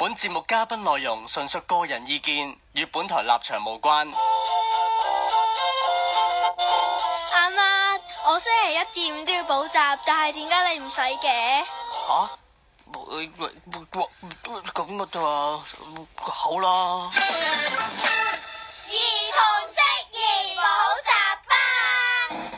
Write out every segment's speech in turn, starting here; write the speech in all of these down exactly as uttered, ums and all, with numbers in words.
本節目嘉賓內容純屬個人意見，與本台立場無關。 阿媽，我星期一至五都要補習，但係點解你唔使嘅？ 吓？咁嘅啫嘛，好啦。 兒童適宜補習班。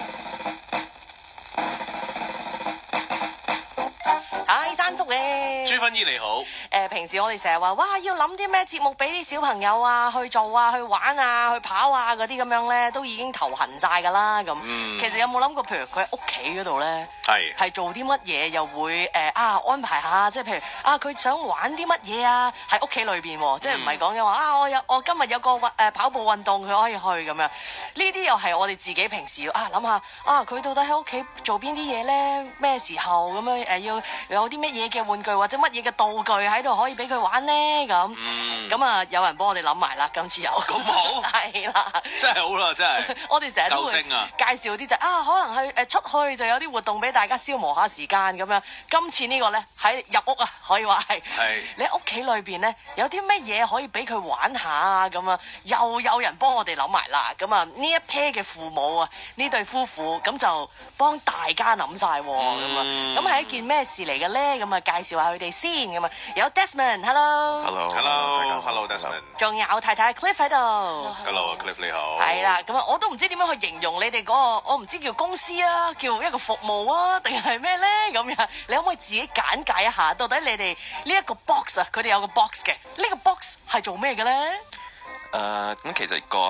嗨，山叔咧， 朱芬姨你好。 誒、呃，平時我哋成日話，哇，要諗啲咩節目俾啲小朋友啊去做啊，去玩啊，去跑啊嗰啲咁樣咧，都已經頭痕晒噶啦咁。嗯、其實有冇諗過，譬如佢喺屋企嗰度咧，係係是做啲乜嘢，又會誒、呃、啊安排下，即係譬如啊，佢想玩啲乜嘢啊，喺屋企裏邊，嗯、即係唔係講嘅話啊，我有我今日有個運誒跑步運動，佢可以去咁樣。呢啲又係我哋自己平時要啊諗下啊，佢到底喺屋企做邊啲嘢咧？咩時候咁樣誒、呃、要有啲乜嘢嘅玩具或者乜嘢嘅道具喺度可以俾佢玩呢？咁咁啊，有人幫我哋諗埋啦，今次有咁好係啦， 真係好啦，真係我哋成日都會介紹啲就啊，可能去誒出去就有啲活動俾大家消磨下時間咁樣。今次呢個咧喺入屋啊，可以話係係你喺屋企裏邊咧有啲乜嘢可以俾佢玩下啊？咁啊，又有人幫我哋諗埋啦。咁啊，呢一 pair 嘅父母啊，呢對夫婦咁就幫大家諗晒咁啊。咁係一件咩事嚟嘅咧？咁啊，介紹下佢哋先咁啊。有 Desmond，Hello，Hello，Hello，Hello，Desmond。仲有太太 Cliff 喺度 ，Hello，Cliff 你好。 係啦，咁啊，我都唔知點樣去形容你哋嗰個，我唔知叫公司啊，叫一個服務啊，定係咩咧？咁樣，你可唔可以自己簡介一下，到底你哋呢一個 box 啊，佢哋有個 box 嘅，呢個 box 係做咩嘅咧？ 誒，咁其實個誒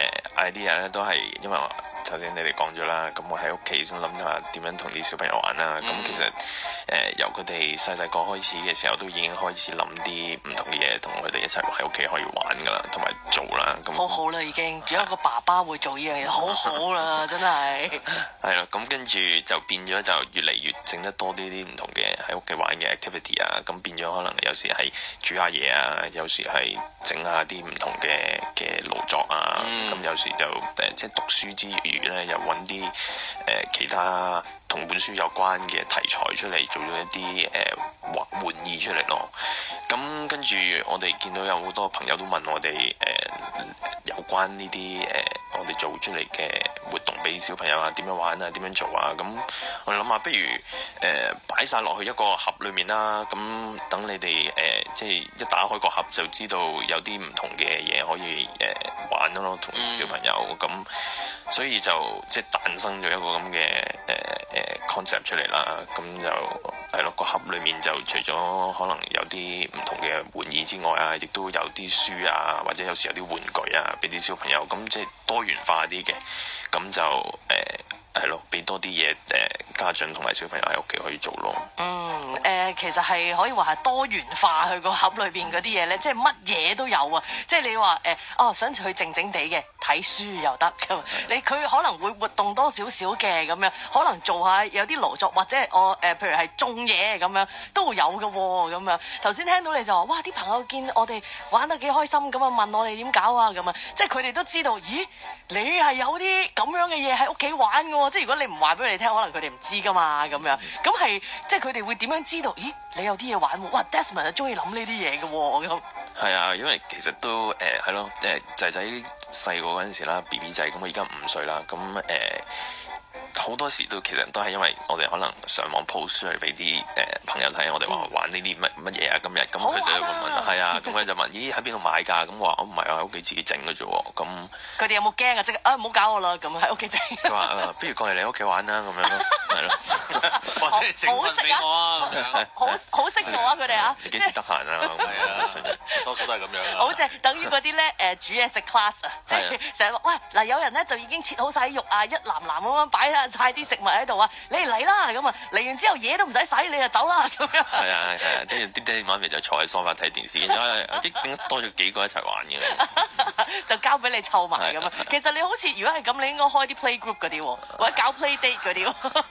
idea 咧都係因為頭先你哋講咗啦，咁我喺屋企先諗下點樣同啲小朋友玩啦。咁、嗯、其實誒、呃、由佢哋細細個開始嘅時候，都已經開始諗啲唔同嘅嘢，同佢哋一齊喺屋企可以玩噶啦，同埋做啦。咁好好啦，已經，仲有一個爸爸會做呢樣嘢，好好啦，真係。係啦，咁跟住就變咗就越嚟越整得多啲啲唔同嘅喺屋企玩嘅 activity 啊，咁變咗可能有時係煮下嘢啊，有時係整下啲唔同嘅嘅勞作啊，咁、嗯、有時就誒即係讀書之餘咧，又揾啲誒其他同本書有關嘅題材出嚟，做咗一啲誒玩玩意出嚟咯。咁跟住我哋見到有好多朋友都問我哋誒、呃、有關呢啲誒我哋做出嚟嘅活動俾小朋友啊，點樣玩啊，點樣做啊？咁我哋諗下，不如誒擺晒落去一個盒裏面啦。咁等你哋誒、呃、即係一打開個盒就知道有啲唔同嘅嘢可以誒、呃、玩咯，同小朋友咁。嗯所以就即係誕生咗一個咁嘅誒誒 concept 出嚟啦，咁就係咯，個盒裏面就除咗可能有啲唔同嘅玩意之外啊，亦都有啲書啊，或者有時有啲玩具啊，俾啲小朋友，咁即係多元化啲嘅，咁就誒係咯，俾多啲嘢誒家長同埋小朋友喺屋企可以做咯。嗯， 誒、呃、其實係可以話係多元化，去個盒裏邊嗰啲嘢咧，即係乜嘢都有啊！即係你話誒、呃、哦，想去靜靜地嘅睇書又得咁，你佢可能會活動多少少嘅咁樣，可能做下有啲勞作或者我誒、呃、譬如係種嘢咁樣都會有嘅喎咁樣。頭先聽到你就話哇，啲朋友見我哋玩得幾開心咁啊，問我哋點搞啊咁啊，即係佢哋都知道，咦，你係有啲咁樣嘅嘢喺屋企玩嘅喎，即係如果你唔話俾佢哋聽，可能佢哋唔知噶嘛咁樣。咁係即係佢哋會點樣知道？咦，你有啲嘢玩喎！哇 ，Desmond 係中意諗呢啲嘢嘅喎咁。 係啊，因為其實都誒係咯，誒仔仔細個嗰陣時啦 ，B B 仔咁，我而家五歲啦，咁誒好多時都其實都係因為我哋可能上網 post 出嚟俾啲誒朋友睇，我哋話玩呢啲乜乜嘢啊，今日咁佢就會問，係啊，咁佢就問，咦喺邊度買㗎？咁話我唔係啊，喺屋企自己整嘅啫喎，咁佢哋有冇驚啊？即係啊唔好搞我啦，咁喺屋企整。 佢話誒，不如過嚟你屋企玩啦，咁樣咯，係咯， 或者整份俾我啊， 好好識做啊佢哋啊， 你幾時得閒啊？係啊， 多數都係咁樣。 好正，等於嗰啲咧誒煮嘢食 class 啊，即係成日話喂嗱，有人咧就已經切好晒肉啊，一籃籃咁樣擺晒啲食物喺度啊，你嚟嚟啦咁啊，嚟完之後嘢都唔使洗，你就走啦咁樣。係啊係啊，即係啲爹哋媽咪就坐喺梳化睇電視，因為啲點解多咗幾個一齊玩嘅， 就交俾你湊埋咁啊。其實你好似如果係咁，你應該開啲 play group 嗰啲喎，或者搞 play date 嗰啲喎。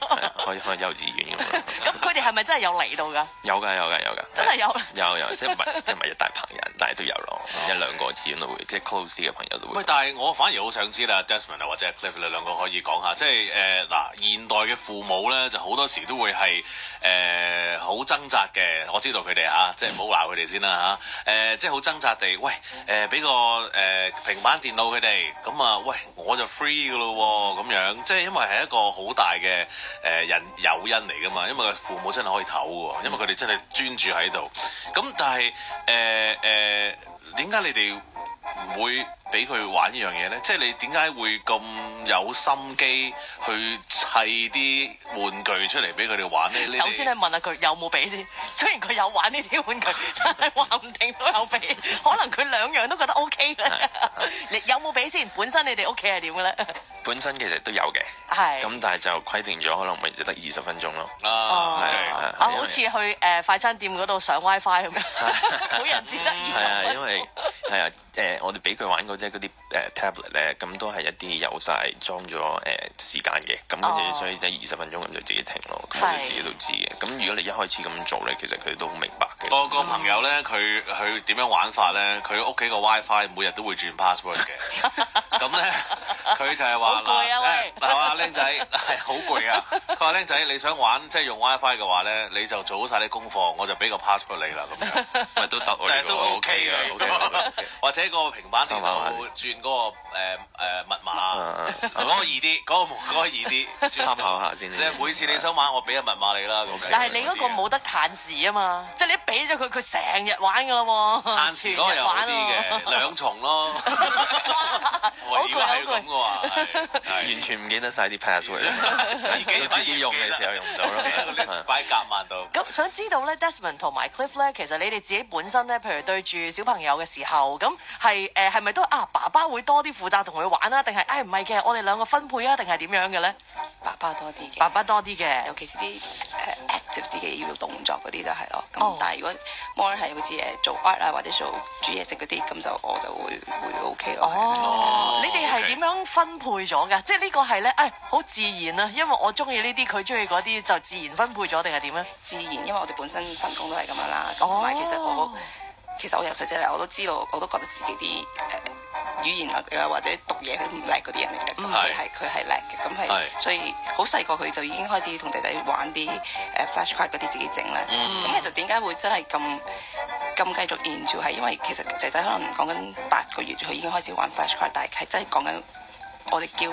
開開幼稚園咁樣。 咁佢哋係咪真係有嚟到㗎？ 有㗎有㗎有㗎， 真係有。有有，即係唔係即係唔係一大棚人，但係都有咯，一兩個始終都會，即係 close 啲嘅朋友都會。喂， 但係我反而好想知啦 ，Desmond 啊或者 Cliff 你兩個可以講下，即係誒嗱現代嘅父母咧，就好多時都會係誒好掙扎嘅。我知道佢哋嚇，即係唔好鬧佢哋先啦嚇。誒即係好掙扎地，喂誒俾個誒平板電腦佢哋，咁啊喂我就 free 㗎咯喎，咁樣即係因為係一個好大嘅誒人誘因嚟㗎嘛，因為個父母真係可以唞喎，因為佢哋真係專注喺度。咁但係誒誒點解你哋唔會俾佢玩呢樣嘢咧？即係你點解會咁有心機去砌啲玩具出嚟俾佢哋玩咧？ 首先你問下佢有冇俾先。雖然佢有玩呢啲玩具，但係話唔定都有俾。可能佢兩樣都覺得 OK 咧。你有冇俾先？本身你哋屋企係點嘅咧？ 本身其實都有嘅， 係咁，但係就規定咗，可能每日就得二十分鐘咯。 哦，係啊，好似去誒快餐店嗰度上 WiFi 咁樣，每人只得二十分鐘。係啊， 因為係啊誒，我哋俾佢玩嗰啲嗰啲誒 tablet 咧，咁都係一啲有晒裝咗誒時間嘅，咁跟住所以即係二十分鐘咁就自己停咯。咁佢自己都知嘅。咁如果你一開始咁做咧，其實佢哋都好明白嘅。 我個朋友咧，佢佢點樣玩法咧？佢屋企個 WiFi 每日都會轉 password 嘅。咁咧，佢就係話。 好攰啊！喂， 嗱，話僆仔係好攰啊！佢話僆仔，你想玩即係用 WiFi 嘅話咧，你就做好晒啲功課，我就俾個 password 你啦，咁樣咪都得， 即係都 OK 嘅。或者個平板電腦轉嗰個誒誒密碼，嗰個易啲，嗰個嗰個易啲， 參考下先。 即係每次你想玩，我俾個密碼你啦。 但係你嗰個冇得限時啊嘛，即係你一俾咗佢，佢成日玩㗎啦喎。 限時嗰個又好啲嘅，兩重咯。如果係咁嘅話， 完全唔記得晒啲 password，自己自己用嘅時候用唔到咯， 擺喺夾萬度。 咁想知道咧 ，Desmond 同埋 Cliff 咧，其實你哋自己本身咧，譬如對住小朋友嘅時候，咁係誒係咪都啊爸爸會多啲負責同佢玩啊？定係誒唔係嘅，我哋兩個分配啊？定係點樣嘅咧？ 爸爸多啲嘅， 爸爸多啲嘅， 尤其是啲誒 active 啲嘅要動作嗰啲就係咯。咁但係如果 more 係好似誒做 art 啊或者做煮嘢食嗰啲，咁就我就會會 OK 咯。 哦，你哋係點樣分配咗㗎？即係呢個係咧誒好自然啊，因為我中意呢啲，佢中意嗰啲，就自然分配咗定係點咧？ 自然，因為我哋本身份工都係咁樣啦。咁同埋其實我其實我由細仔嚟我都知道，我都覺得自己啲誒。呃語言啊，或者讀嘢佢唔叻嗰啲人嚟嘅，咁佢係佢係叻嘅，咁係所以好細個佢就已經開始同仔仔玩啲誒 flashcard 嗰啲自己整咧。咁、嗯、其實點解會真係咁咁繼續 into 係因為其實仔仔可能講緊八個月佢已經開始玩 flashcard，但係係真係講緊我哋叫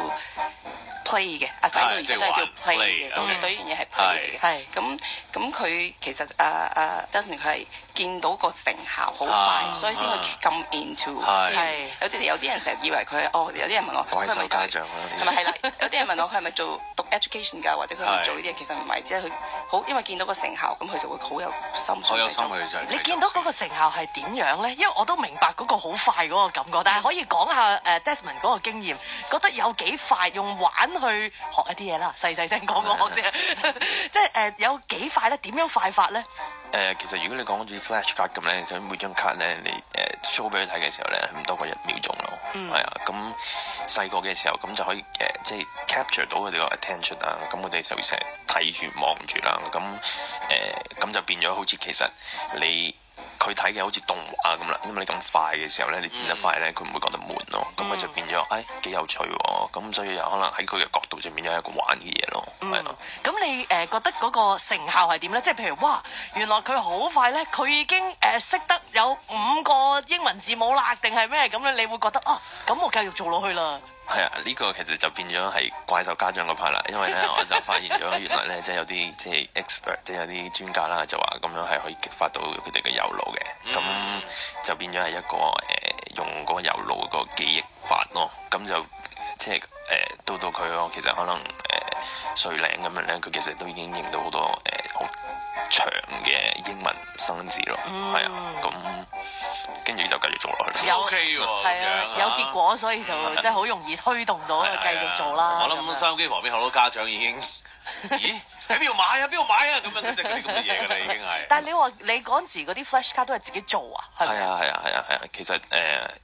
play 嘅，阿仔到而家都係叫 play 嘅，咁你對呢樣嘢係 play 嚟嘅。係咁咁佢其實阿阿 Desmond 佢係見到個成效好快，所以先會咁 into。係有啲有啲人成日以為佢哦，有啲人問我怪獸家長係咪係啦？有啲人問我佢係咪做讀 education 㗎，或者佢係咪做呢啲嘢？其實唔係，即係佢好因為見到個成效，咁佢就會好有心。 好有心去就你見到嗰個成效係點樣咧？因為我都明白嗰個好快嗰個感覺，但係可以講下誒 Desmond 嗰個經驗，覺得有幾快用玩去學一啲嘢啦，細細聲講講啫，即係誒有幾快咧？點樣快法咧？ 誒，其實如果你講好似 flash card 咁咧，就每張卡咧，你誒 show 俾佢睇嘅時候咧，唔多過一秒鐘咯，係啊。咁細個嘅時候，咁就可以誒，即係 capture 到佢哋個 attention 啊。咁我哋就成日睇住望住啦。咁誒，咁就變咗好似其實你。佢睇嘅好似動畫咁啦，因為你咁快嘅時候咧，你變得快咧，佢唔會覺得悶咯。咁佢、嗯、就變咗，誒幾有趣喎。咁所以有可能喺佢嘅角度就變咗一個玩嘅嘢咯。係啊。咁你誒覺得嗰個成效係點咧？即係譬如哇，原來佢好快咧，佢已經誒識得有五個英文字母啦，定係咩咁咧？你會覺得啊，咁我繼續做落去啦。 係啊，呢、這個其實就變咗係怪獸家長嗰 part 啦，因為咧我就發現咗原來咧即係有啲即係 expert，即係有啲專家啦，就話咁樣係可以激發到佢哋嘅右腦嘅，咁、嗯、就變咗係一個誒、呃、用嗰個右腦個記憶法咯，咁就即係誒到到佢咯，其實可能誒歲零咁樣咧，佢其實都已經認到好多誒好、呃、長嘅英文生字咯，係、嗯、啊，咁。跟住就繼續做落去。 O K 喎， 係啊，有結果，所以就即係好容易推動到繼續做啦。 我諗收音機旁邊好多家長已經，咦喺邊度買啊？邊度買啊？咁樣即係嗰啲咁嘅嘢㗎啦，已經係。 但係你話你嗰陣時嗰啲 flash card 都係自己做啊？ 係啊係啊係啊係啊，其實誒一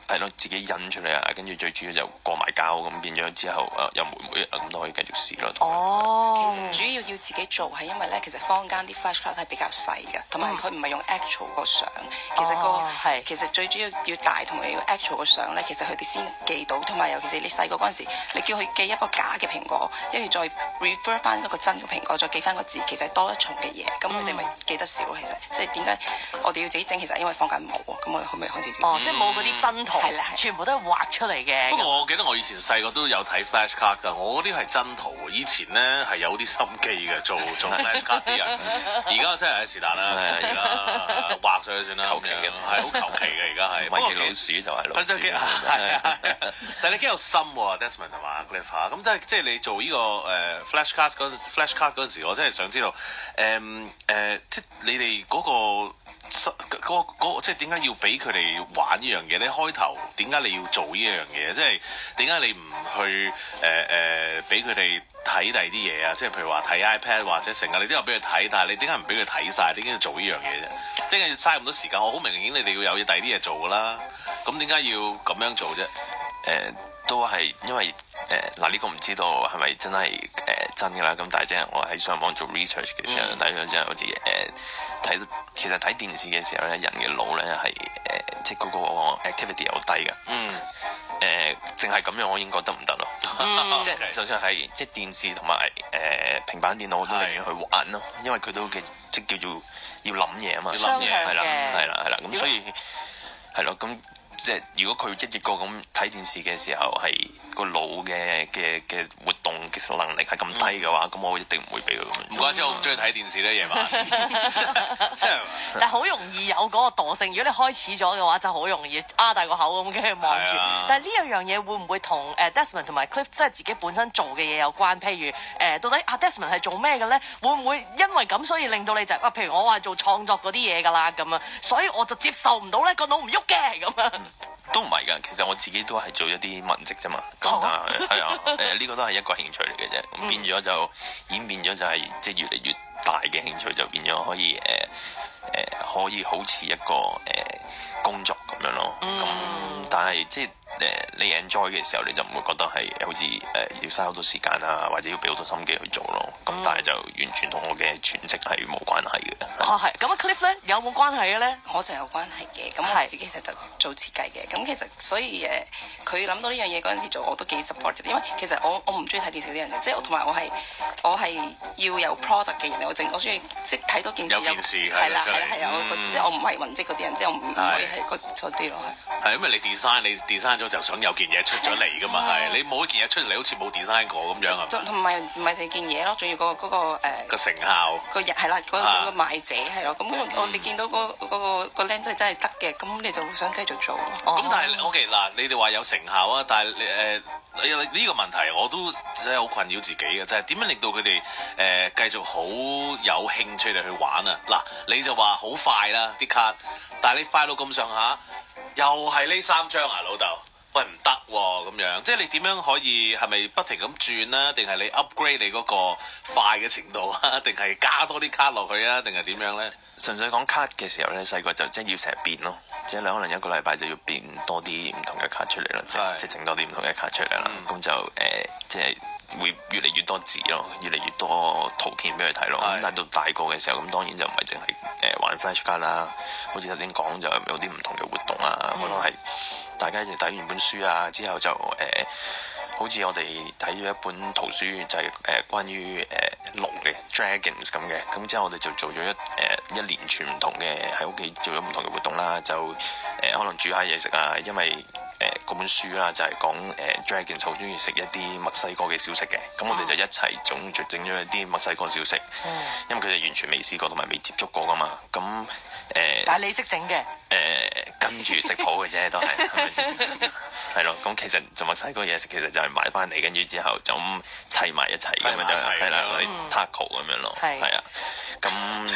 係咯，自己印出嚟啊，跟住最主要就過埋膠咁變咗之後，誒有妹妹咁都可以繼續試咯。 哦， 其實主要要自己做係因為咧，其實坊間啲 flashcard 係比較細嘅，同埋佢唔係用 actual 個相。其實個係其實最主要要大同埋要 actual 個相咧，其實佢哋先記到，同埋尤其是你細個嗰陣時，你叫佢寄一個假嘅蘋果，跟住再 refer 翻一個真嘅蘋果，再記翻個字，其實係多一重嘅嘢，咁佢哋咪記得少。其實即係點解我哋要自己整？其實因為坊間冇啊，咁我哋可唔可以開始自己？ 哦，即係冇嗰啲真圖， 係啦， 全部都係畫出嚟嘅。 不過我記得我以前細個都有睇 flashcard 㗎，我嗰啲係真圖。以前咧係有啲心機嘅，做做 flashcard 啲人。而家真係是但啦，而家畫上去算啦， 求其嘅， 係好求其嘅。而家係米奇老鼠就係老鼠。 係啊，但係你幾有心喎 ，Desmond 同埋 Cliff 嚇。咁即係即係你做呢個誒 flashcard 嗰陣 flashcard 嗰陣時，我真係想知道誒誒，即係你哋嗰個。嗰嗰即係點解要俾佢哋玩呢樣嘢咧？開頭點解你要做呢一樣嘢？即係點解你唔去誒誒俾佢哋睇第二啲嘢啊？即係譬如話睇 iPad 或者成日你都有俾佢睇，但係你點解唔俾佢睇晒？點解要做呢樣嘢啫？即係嘥咁多時間。我好明顯你哋要有第二啲嘢做㗎啦。咁點解要咁樣做啫？誒、 呃，都係因為誒嗱呢個唔知道係咪真係誒、呃、真㗎啦。咁但係即係我喺上網做 research 嘅時候睇咗之後，好似誒睇到。其實睇電視嘅時候咧，人嘅腦咧係誒，即係嗰個 activity 又低嘅。嗯。誒，淨係咁樣我已經覺得唔得咯。嗯、即係就算係即係電視同埋誒平板電腦，我都寧願去玩咯，因為佢都嘅即係叫做要諗嘢啊嘛。 要諗嘢。 係啦，係啦，係啦。咁所以係咯，咁即係如果佢一億個咁睇電視嘅時候係個腦嘅嘅嘅活動嘅能力係咁低嘅話，咁、嗯、我一定唔會俾佢咁樣。 唔怪之我唔中意睇電視咧，夜晚。即係， 但係好容易有嗰個惰性。如果你開始咗嘅話，就好容易啊大個口咁跟住望住。啊、但係呢樣樣嘢會唔會同誒 Desmond 同埋 Cliff 即係自己本身做嘅嘢有關？譬如誒、呃，到底啊 Desmond 係做咩嘅咧？會唔會因為咁所以令到你就啊？譬如我係做創作嗰啲嘢㗎啦咁啊，所以我就接受唔到咧個腦唔喐嘅咁啊。 都唔係㗎，其實我自己都係做一啲文職啫嘛。咁但係係啊，誒呢、呃這個都係一個興趣嚟嘅啫。咁變咗就演變咗就係即係越嚟越大嘅興趣，就變咗可以誒誒、呃呃、可以好似一個誒、呃、工作咁樣咯。咁、嗯、但係即係。誒，你 enjoy 嘅時候，你就唔會覺得係好似誒、呃、要嘥好多時間啊，或者要俾好多心機去做咯。咁、嗯、但係就完全同我嘅全職係冇關係嘅。 哦，係。咁啊 Cliff 咧有冇關係嘅咧？ 我就有關係嘅。咁我自己其實就做設計嘅。咁其實所以誒，佢諗到呢樣嘢嗰陣時做，我都幾 support。因為其實我我唔中意睇電視嗰啲人嘅，即係同埋我係我係要有 product 嘅人嚟。我正我中意即係睇到件事有件事係啦係啦係啊！我即係我唔係文職嗰啲人，即係我唔可以係嗰嗰啲咯。 係因為你 design 你 design 咗就想有件嘢出咗嚟噶嘛，係你冇一件嘢出嚟，好似冇 design 過咁樣啊。同埋唔係成件嘢咯，仲要嗰嗰個誒個成效個人係啦，嗰嗰個賣者係咯。咁我你見到嗰嗰個個靚仔真係得嘅，咁你就會想繼續做咯。 咁但係 OK 嗱，你哋話有成效啊，但係誒呢個問題我都真係好困擾自己嘅，就係點樣令到佢哋誒繼續好有興趣嚟去玩啊？嗱，你就話好快啦啲卡，但係你快到咁上下。又係呢三張啊，老豆，喂唔得喎咁樣，即係你點樣可以係咪不停咁轉啦？定係你 upgrade 你嗰個快嘅程度啊？定係加多啲卡落去啊？定係點樣咧？ 純粹講卡嘅時候咧，細個就即係要成日變咯，即係你可能一個禮拜就要變多啲唔同嘅卡出嚟啦，即係即係整多啲唔同嘅卡出嚟啦，咁、嗯、就誒、呃、即係。會越嚟越多字咯，越嚟越多圖片俾佢睇咯。咁但係到大個嘅時候，咁當然就唔係淨係誒玩 flash 卡啦。好似頭先講就有啲唔同嘅活動啊，可能係大家一齊睇完本書啊，之後就誒、呃，好似我哋睇咗一本圖書就係、是、誒、呃、關於誒、呃、龍嘅 dragons 咁嘅。咁之後我哋就做咗一誒、呃、一連串唔同嘅喺屋企做咗唔同嘅活動啦。就誒、呃、可能煮下嘢食啊，因為誒嗰、呃、本書啦就係講誒 Dragon 好中意食一啲墨西哥嘅小食嘅，咁、嗯、我哋就一齊總就整咗一啲墨西哥小食，嗯、因為佢哋完全未試過同埋未接觸過噶嘛，咁誒。呃、但係你識整嘅？誒、呃、跟住食譜嘅啫，都係係咪先？係咯，咁其實做墨西哥嘢食其實就係買翻嚟，跟住之後就咁砌埋一齊咁樣就係啦，嗰啲 taco 咁樣咯，係啊，咁即係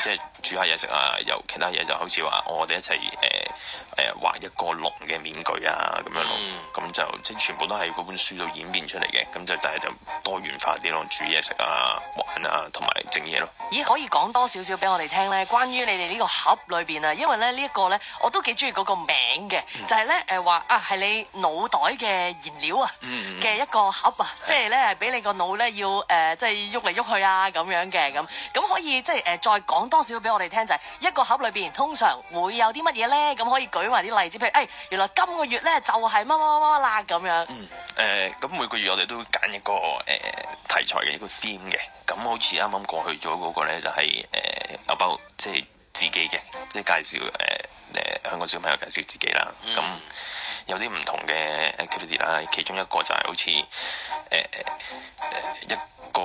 煮下嘢食啊，有其他嘢就好似話我哋一齊誒誒畫一個龍嘅面具啊咁樣咯，咁、嗯、就即係全部都係嗰本書度演變出嚟嘅，咁就但係就多元化啲咯，煮嘢食啊、玩啊同埋整嘢咯。咦，可以講多少少俾我哋聽咧？關於你哋呢個盒裏邊啊，因為咧呢一個咧我都幾中意嗰個名嘅，嗯、就係咧誒話啊係你腦袋嘅燃料啊嘅一個盒啊，嗯、即係咧係俾你個腦咧要誒、呃、即係喐嚟喐去啊咁樣嘅咁，咁可以即係誒、呃、再講多少俾我哋聽，就係、是、一個盒裏邊通常會有啲乜嘢咧？咁可以舉埋啲例子，譬如誒、哎、原來今個月咧就係乜乜乜乜啦咁樣。嗯誒，咁、呃、每個月我哋都會揀一個誒、呃、題材嘅一個 theme 嘅，咁好似啱啱過去咗嗰個咧就係、是、誒，有、呃、包即係自己嘅，即係介紹誒誒香港小朋友介紹自己啦。咁、嗯、有啲唔同嘅 activity 啦，其中一個就係好似誒誒一個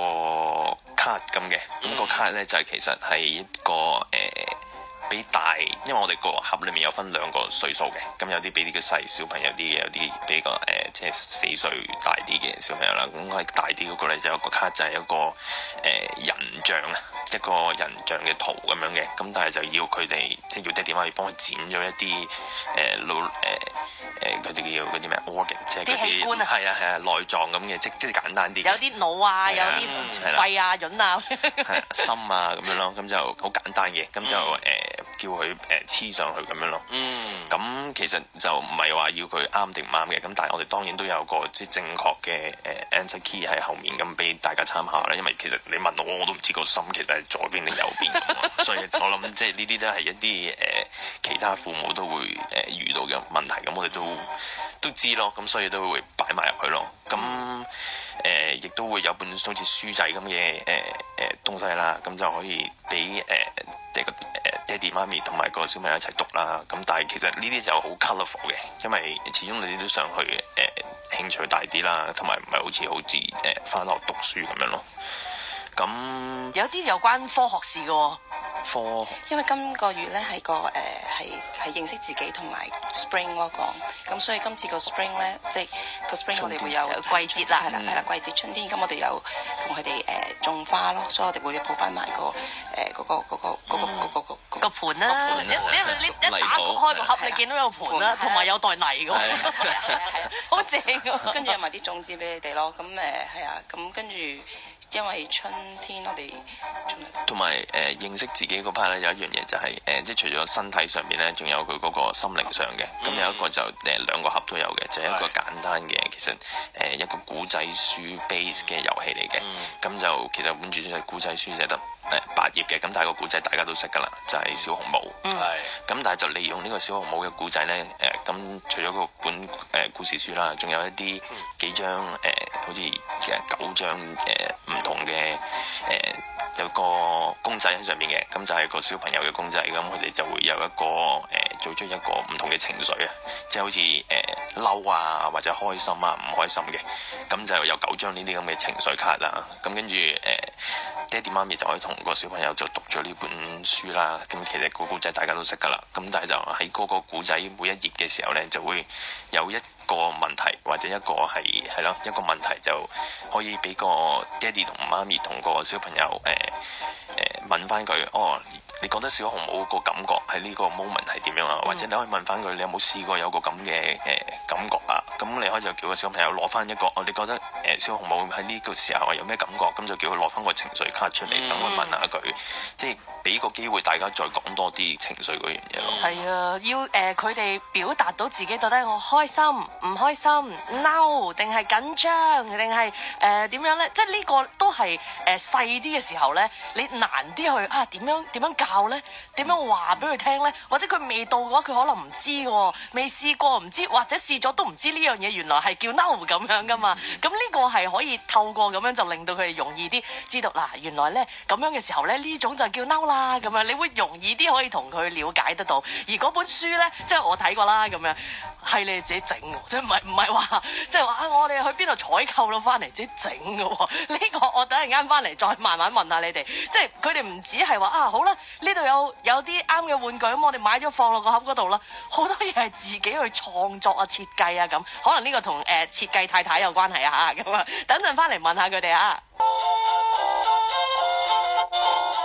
card 咁嘅，咁、嗯、個 card 咧就係、是、其實係一個誒。呃比大，因為我哋個盒裏面有分兩個歲數嘅，咁有啲比呢個細小朋友啲嘅，有啲比個誒、呃、即係四歲大啲嘅小朋友啦。咁係大啲嗰個咧就有個卡就係一個誒、呃、人像啊，一個人像嘅圖咁樣嘅。咁但係就要佢哋即係要爹哋媽咪幫佢剪咗一啲誒腦誒誒佢哋叫嗰啲咩 organ， 即係嗰啲器官啊，係啊係啊內臟咁嘅，即即係簡單啲。有啲腦啊，有啲肺啊、潤啊、心啊咁樣咯，咁就好簡單嘅，咁就誒。呃叫佢誒黐上去咁樣咯，咁、嗯、其實就唔係話要佢啱定唔啱嘅，咁但係我哋當然都有個即係正確嘅誒 answer key 喺後面咁俾大家參考啦。因為其實你問我我都唔知個心其實係左邊定右邊咁，所以我諗即係呢啲都係一啲誒、呃、其他父母都會誒、呃、遇到嘅問題，咁我哋都都知咯，咁所以都會擺埋入去咯。咁誒亦都會有本好似書仔咁嘅誒誒東西啦，咁就可以俾誒。呃即係個誒爹哋媽咪同埋個小朋友一齊讀啦，咁但係其實呢啲就好 colourful 嘅，因為始終你哋都想去誒、呃、興趣大啲啦，同埋唔係好似好似誒返學讀書咁樣咯。咁有啲有關科學事嘅喎。科因為今個月咧係個誒係係認識自己同埋 spring 咯講，咁所以今次個 spring 咧即係個 spring 我哋會有季節啦，係啦係啦季節春天，咁我哋有同佢哋誒種花咯，所以我哋會抱翻埋個誒嗰個嗰個嗰個嗰個嗰個盤啦，你你你一打開個盒，你見到有盤啦，同埋有袋泥嘅，係啊係啊，好正㗎，跟住有埋啲種子俾你哋咯，咁誒係啊，咁跟住。因為春天我哋同埋誒認識自己嗰 part 咧，有一樣嘢就係、是、誒、呃，即係除咗身體上面咧，仲有佢嗰個心靈上嘅。咁、嗯、有一個就誒、呃、兩個盒都有嘅，就係、是、一個簡單嘅，其實誒、呃、一個古仔書 base 嘅遊戲嚟嘅。咁、嗯、就其實本住就係古仔書寫得誒八頁嘅，咁但係個古仔大家都識噶啦，就係、是、小紅帽。係、嗯。咁但係就利用呢個小紅帽嘅古仔咧，誒、呃、咁除咗個本誒、呃、故事書啦，仲有一啲幾張誒、呃，好似其實九張誒。呃唔同嘅誒、呃、有個公仔喺上面嘅，咁就係個小朋友嘅公仔，咁佢哋就會有一個誒、呃、做出一個唔同嘅情緒啊，即係好似誒嬲啊或者開心啊唔開心嘅，咁就有九張呢啲咁嘅情緒卡啦，咁跟住誒爹哋媽咪就可以同個小朋友就讀咗呢本書啦，咁其實個古仔大家都識噶啦，咁但係就喺嗰個古仔每一頁嘅時候咧，就會有一個問題或者一個係係咯一個問題就可以俾個爹哋同媽咪同個小朋友誒誒、呃呃、問翻佢哦，你覺得小紅帽個感覺喺呢個 moment 係點樣啊？嗯、或者你可以問翻佢，你有冇試過有個咁嘅誒感覺啊？咁你可以就叫個小朋友攞翻一個哦，你覺得誒、呃、小紅帽喺呢個時候有咩感覺？咁就叫佢攞翻個情緒卡出嚟，等佢、嗯、問下佢，即係俾個機會大家再講多啲情緒嗰樣嘢咯。係啊，要誒佢哋表達到自己到底我開心唔開心、嬲定係緊張定係誒點樣咧？即係呢個都係誒細啲嘅時候咧，你難啲去啊點樣點樣教咧？點樣話俾佢聽咧？或者佢未到嘅話，佢可能唔知喎，未試過唔知，或者試咗都唔知呢樣嘢原來係叫嬲咁樣噶嘛。咁呢個係可以透過咁樣就令到佢哋容易啲知道嗱，原來咧咁樣嘅時候咧呢種就叫嬲啦咁樣，你會容易啲可以同佢了解得到。而嗰本書咧，即係我睇過啦咁樣，係你哋自己整嘅，即係唔係唔係話即係話啊我哋去邊度採購到翻嚟自己整嘅喎。呢個我等陣間翻嚟再慢慢問下你哋，即係佢哋唔止係話啊好啦，呢度有有啲啱嘅玩具咁，我哋買咗放落個盒嗰度啦。好多嘢係自己去創作啊、設計啊咁，可能呢個同誒設計太太有關係啊嚇咁啊。等陣翻嚟問下佢哋啊。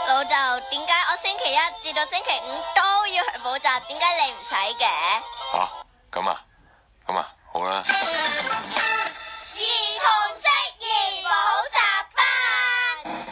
老豆，點解我星期一至到星期五都要去補習？點解你唔使嘅？ 吓，咁啊，咁啊，好啦。 兒童適宜補習班。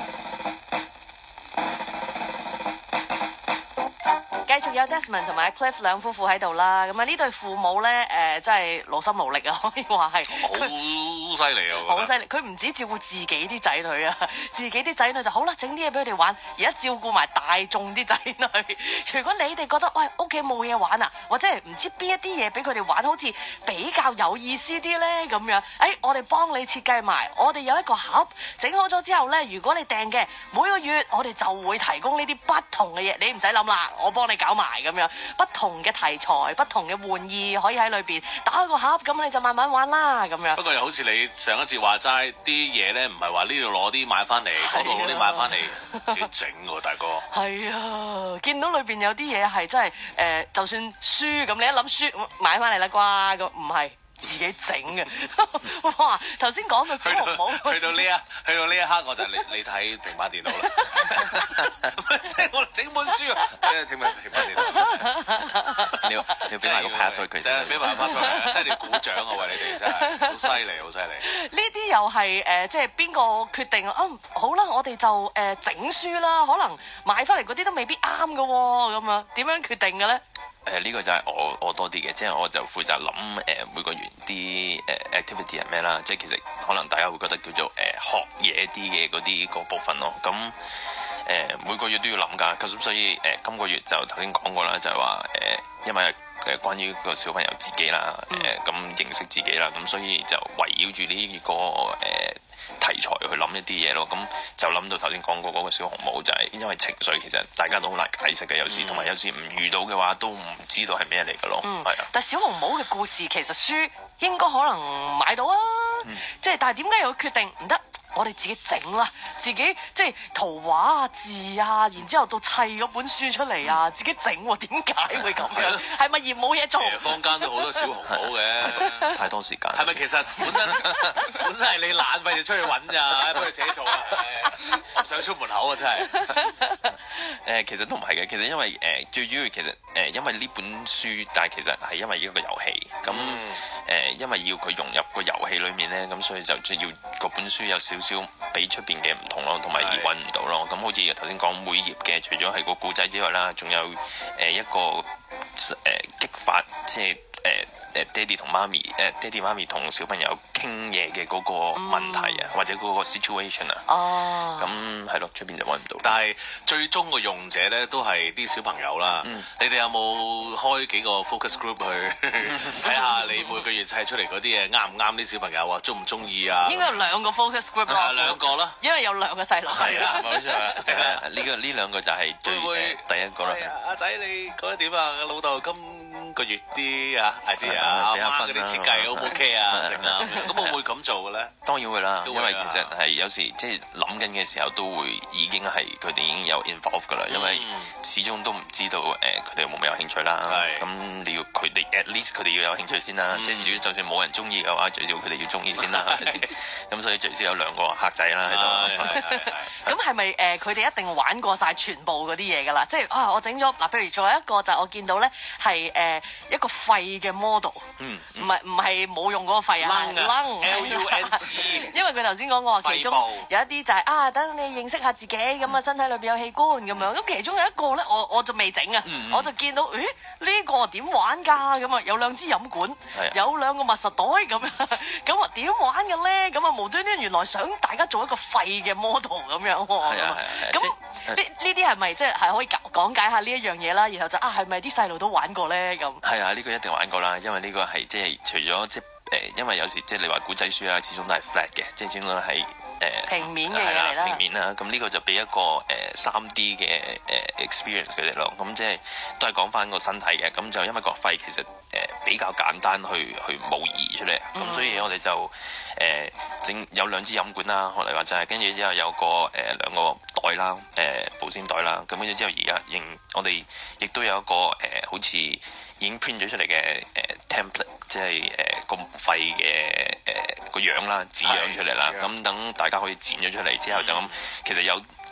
繼續有 Desmond 同埋 Cliff 兩夫婦喺度啦，咁啊呢對父母咧，誒、呃、真係勞心勞力啊，可以話係好犀利啊！ 好犀利，佢唔止照顧自己啲仔女啊，自己啲仔女就好啦，整啲嘢俾佢哋玩，而家照顧埋大眾啲仔女。如果你哋覺得喂屋企冇嘢玩啊，或者係唔知邊一啲嘢俾佢哋玩，好似比較有意思啲咧咁樣，誒、哎、我哋幫你設計埋，我哋有一個盒整好咗之後咧，如果你訂嘅每個月，我哋就會提供呢啲不同嘅嘢，你唔使諗啦，我幫你搞埋咁樣，不同嘅題材、不同嘅玩意可以喺裏邊打開個盒，咁你就慢慢玩啦咁樣。 不過又好似你上一節話齋啲嘢咧，唔係話呢度攞啲買翻嚟，嗰度攞啲買翻嚟，自己整喎，大哥。係啊，見到裏邊有啲嘢係真係誒、呃，就算書咁，你一諗書買翻嚟啦啩，咁唔係。自己整嘅，哇！頭先講到小紅帽， 去到呢一去到呢一刻，我就你你睇平板電腦啦，即係我整本書啊，誒平板平板電腦，你要俾埋個 password 佢先，俾埋個 password，即係你鼓掌啊！喂，你哋真係好犀利，好犀利。 呢啲又係誒，即係邊個決定啊？好啦，我哋就誒整書啦，可能買翻嚟嗰啲都未必啱嘅喎，咁啊點樣決定嘅咧？ 誒呢、呃這個就係我我多啲嘅，即係我就負責諗誒、呃、每個月啲誒、呃、activity 係咩啦，即係其實可能大家會覺得叫做誒、呃、學嘢啲嘅嗰啲個部分咯。咁誒、呃、每個月都要諗㗎，咁所以誒、呃、今個月就頭先講過啦，就係話誒因為誒關於個小朋友自己啦，誒、呃、咁認識自己啦，咁所以就圍繞住呢個誒、呃題材去諗一啲嘢咯，咁就諗到頭先講過嗰個小紅帽，就係因為情緒其實大家都好難解釋嘅，有時同埋、嗯、有時唔遇到嘅話都唔知道係咩嚟嘅咯，係、嗯、啊。 但小紅帽嘅故事其實書應該可能買到啊，嗯、即係但係點解又決定唔得？我哋自己整啦，自己即係圖畫啊、字啊，然之後到砌嗰本書出嚟啊，自己整喎，點解會咁樣？係咪嫌冇嘢做？ 坊間都好多小紅帽嘅， 太多時間。 係咪其實本身本身係你懶費就出去揾咋，不如自己做啊？唔想出門口啊，真係。 誒、呃，其實都唔係嘅，其實因為誒、呃、最主要其實誒、呃、因為呢本書，但係其實係因為一個遊戲，咁誒、嗯呃、因為要佢融入個遊戲裏面咧，咁所以就要嗰本書有少少比出邊嘅唔同咯，同埋而揾唔到咯。咁好似頭先講每頁嘅，除咗係個故仔之外啦，仲有誒、呃、一個誒、呃、激發，即係誒。呃誒爹哋同媽咪，誒爹哋媽咪同小朋友傾嘢嘅嗰個問題啊，嗯、或者嗰個 situation 啊，哦，咁係咯，出邊就揾唔到。但係最終個用者咧都係啲小朋友啦。嗯、你哋有冇開幾個 focus group 去睇下你每個月砌出嚟嗰啲嘢啱唔啱啲小朋友啊？中唔中意啊？ 應該有兩個 focus group 咯。 兩個啦， 因為有兩個細路。 係啦，冇錯啦。呢個呢兩個就係最誒第一個啦。 阿仔你覺得點啊？老豆今個月啲啊 idea 啊，嗰啲設計 O 唔 OK 啊？成啊，咁會唔會咁做嘅咧？ 當然會啦，因為其實係有時即係諗緊嘅時候都會已經係佢哋已經有 involve 噶啦，因為始終都唔知道誒佢哋有冇咩有興趣啦。咁你要佢哋 at least 佢哋要有興趣先啦。即係如果就算冇人中意嘅話，最少佢哋要中意先啦，係咪先？咁所以最少有兩個客仔啦喺度。 咁係咪誒佢哋一定玩過晒全部嗰啲嘢㗎啦？即係啊，我整咗嗱，譬如仲有一個就我見到咧係誒一個廢嘅 model，唔係唔係冇用嗰個廢啊， 掕 L U N G， 因為佢頭先講過其中有一啲就係啊，等你認識下自己咁啊，身體裏邊有器官咁樣。咁其中有一個咧，我我就未整啊，我就見到誒呢個點玩㗎？咁啊有兩支飲管，有兩個密實袋咁樣，咁啊點玩嘅咧？咁啊無端端原來想大家做一個廢嘅 model 咁樣喎。咁呢呢啲係咪即係係可以講解下呢一樣嘢啦？然後就啊係咪啲細路都玩過咧？咁係啊，呢個一定玩過啦，因為呢個係即係除咗即係誒，因為有時即係你話古仔書啦，始終都係 flat 嘅，即係始終都係誒平面嘅嘢嚟啦。 平面啦，咁呢個就俾一個誒三 D 嘅誒 experience 佢哋咯。咁即係都係講翻個身體嘅，咁就因為個肺其實誒比較簡單去去模擬出嚟，咁、嗯、所以我哋就誒整、呃、有兩支飲管啦，我哋話就係跟住之後有個誒兩、呃、個袋啦，誒、呃、保鮮袋啦，咁跟住之後而家認我哋亦都有一個誒、呃、好似已經 print 咗出嚟嘅誒 template， 即係誒個肺嘅誒個樣啦，紙樣出嚟啦，咁等大家可以剪咗出嚟之後就咁，其實有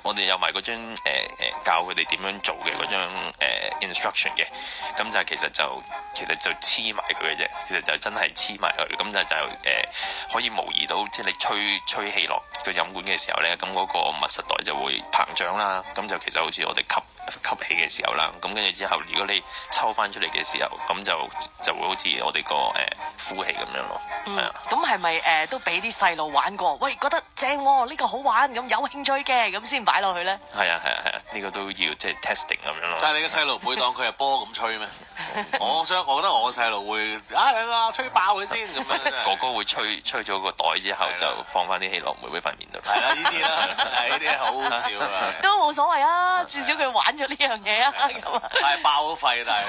我哋有埋嗰張誒誒、呃、教佢哋點樣做嘅嗰張、呃、instruction 嘅，咁就其實就其實就黐埋佢嘅啫，其實就真係黐埋佢，咁就就誒、呃、可以模擬到即係你吹吹氣落個飲管嘅時候咧，咁嗰個密實袋就會膨脹啦，咁就其實好似我哋吸吸氣嘅時候啦，咁跟住之後如果你抽翻出嚟嘅時候，咁就就會好似我哋個誒呼氣咁樣咯。 嗯，咁係咪誒都俾啲細路玩過？喂，覺得正喎，呢個好玩，咁有興趣嘅，咁先擺落去咧？ 係啊係啊係啊，呢個都要即係 testing 咁樣咯。 但係你嘅細路唔會當佢係波咁吹咩？我想，我覺得我嘅細路會啊啊吹爆佢先咁樣。 哥哥會吹吹咗個袋之後就放翻啲氣落妹妹塊面度。 係啦，呢啲啦，係呢啲好好笑啊！ 都冇所謂啊，至少佢玩咗呢樣嘢啊，咁啊。 係爆咗肺，但係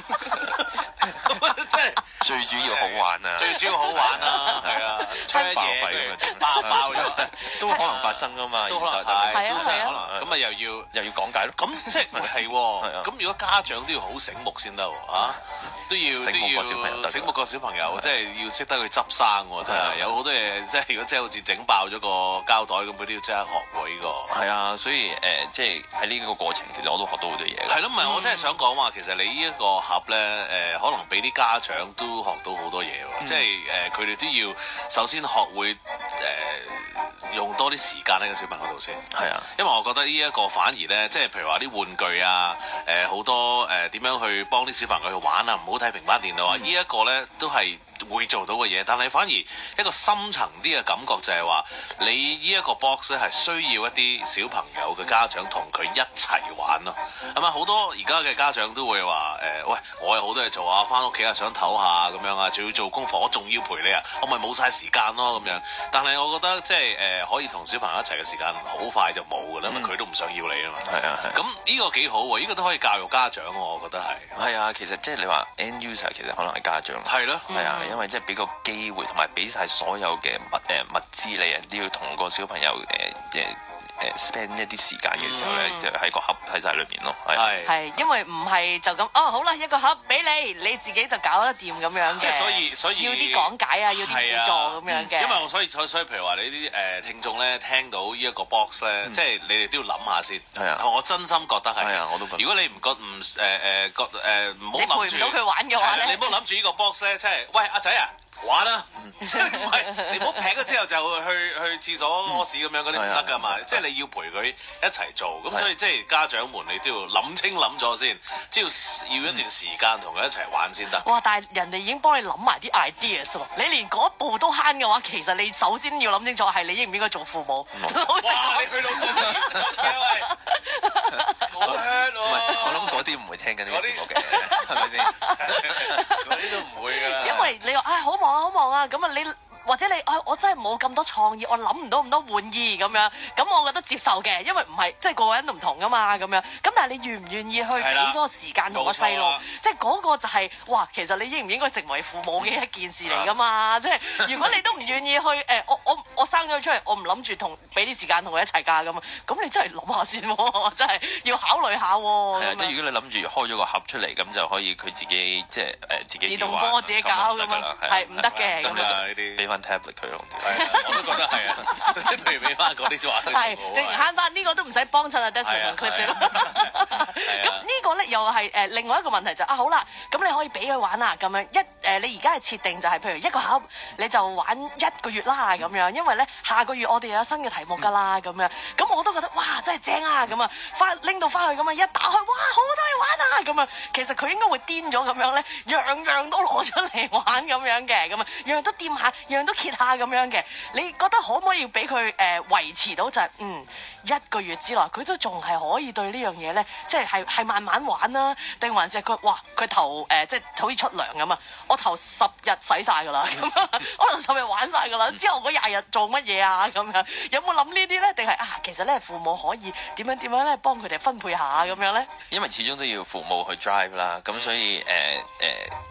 即係最主要好玩啊！ 最主要好玩啊，係啊，吹爆嘢肺咁爆爆咗， 都可能發生噶嘛， 都可能係， 係啊都真係可係能。咁啊又要又要講解咯。 咁即係係喎？咁如果家長都要好醒目先得喎，啊都要都醒目個小朋友要醒目個小朋友，即係要識得去執生喎，真係有好多嘢，即係如果真係好似整爆咗個膠袋咁，佢都要即刻學喎呢個。 係啊，所以誒，即係喺呢個過程，其實我都學到好多嘢。 係咯，唔係我真係想講話，其實你呢一個盒咧，誒可能俾啲家長都學到好多嘢喎，即係誒佢哋都要首先學會誒用多啲時間喺個小朋友度先。係啊，因為我覺得呢一個反而咧，即係譬如話啲玩具啊，誒好多誒點樣去幫啲小朋友去玩啊，唔好睇平板電腦啊，呢一個咧都係會做到嘅嘢，但係反而一個深層啲嘅感覺就係話，你呢一個 box 咧係需要一啲小朋友嘅家長同佢一齊玩咯。係咪好多而家嘅家長都會話誒、呃，喂，我有好多嘢做啊，翻屋企啊想唞下咁樣啊，仲要做功課，我仲要陪你啊，我咪冇晒時間咯咁樣。但係我覺得即係誒、呃，可以同小朋友一齊嘅時間好快就冇㗎啦，因為佢都唔想要你啊嘛。係啊係。咁呢個幾好喎，呢、這個都可以教育家長喎，我覺得係。係啊，其實即係你話 end user 其實可能係家長。係咯。係啊。因為即係俾個機會同埋俾晒所有嘅物誒、呃、物資你啊，都要同個小朋友誒誒誒 spend 一啲時間嘅時候咧，嗯、就喺個盒喺晒裏邊咯。係係，因為唔係就咁哦，好啦，一個盒俾你，你自己就搞得掂咁樣嘅。即係所以所以要啲講解啊，要啲輔助咁樣嘅。因為我所以所以所以譬如話你啲誒聽眾咧聽到呢一個 box 咧，嗯、即係你哋都要諗下先。係啊，我真心覺得係。係啊，我都覺得。如果你唔覺唔誒誒覺誒唔好諗住，你陪唔到佢玩嘅話咧，你唔好諗住呢個 box 咧，即係喂阿仔啊！玩啦，即係唔係你唔好劈咗之後就去去廁所屙屎咁樣嗰啲唔得噶嘛，即係你要陪佢一齊做，咁所以即係家長們你都要諗清諗咗先，即係要一段時間同佢一齊玩先得。哇！但係人哋已經幫你諗埋啲 ideas 喎，你連嗰一步都慳嘅話，其實你首先要諗清楚係你應唔應該做父母。哇！你去到咁嚴重嘅喂，好 hurt 喎！ 我諗嗰啲唔會聽緊呢個節目嘅，係咪先？ 嗰啲都唔會㗎啦。 因為你話唉好忙啊好忙啊，咁啊你。或者你啊、哎，我真係冇咁多創意，我諗唔到咁多玩意咁樣，咁我覺得接受嘅，因為唔係即係個個人都唔同噶嘛，咁樣。咁但係你願唔願意去俾嗰個時間同個細路，即係嗰個就係、是、哇，其實你應唔應該成為父母嘅一件事嚟噶嘛？即係如果你都唔願意去誒、欸，我我我生咗佢出嚟，我唔諗住同俾啲時間同佢一齊㗎咁啊，咁你真係諗下先喎，真係要考慮下喎。係啊， 即係如果你諗住開咗個盒出嚟，咁就可以佢自己即係誒自己自動波自己搞咁樣，係唔得嘅。 咁啊呢啲俾翻 tablet 佢咯， 我都覺得係啊，譬如俾翻嗰啲話， 係淨慳翻呢個都唔使幫襯啊 Desmond 同 Cliff 咁呢個咧又係誒另外一個問題就啊好啦，咁你可以俾佢玩啊咁樣一誒你而家係設定就係譬如一個盒你就玩一個月啦咁樣，因為咧下個月我哋有新嘅題目㗎啦咁樣，咁我都覺得哇真係正啊咁啊，翻拎到翻去咁啊一打開哇好多嘢玩啊咁啊，其實佢應該會癲咗咁樣咧，樣樣都攞出嚟玩咁樣嘅，咁啊樣樣都掂下，樣樣都揭下咁樣嘅，你覺得可唔可以俾佢誒維持到就係、是、嗯一個月之內佢都仲係可以對呢樣嘢咧，即係係係慢慢玩啦，定還是係佢哇佢頭誒、呃、即係好似出糧咁啊？我頭十日使晒㗎啦，咁我頭十日玩晒㗎啦，之後嗰廿日做乜嘢啊？咁樣有冇諗呢啲咧？定係啊其實咧父母可以點樣點樣咧幫佢哋分配下咁樣咧？ 因為始終都要父母去 drive 啦，咁所以誒誒、呃呃、都唔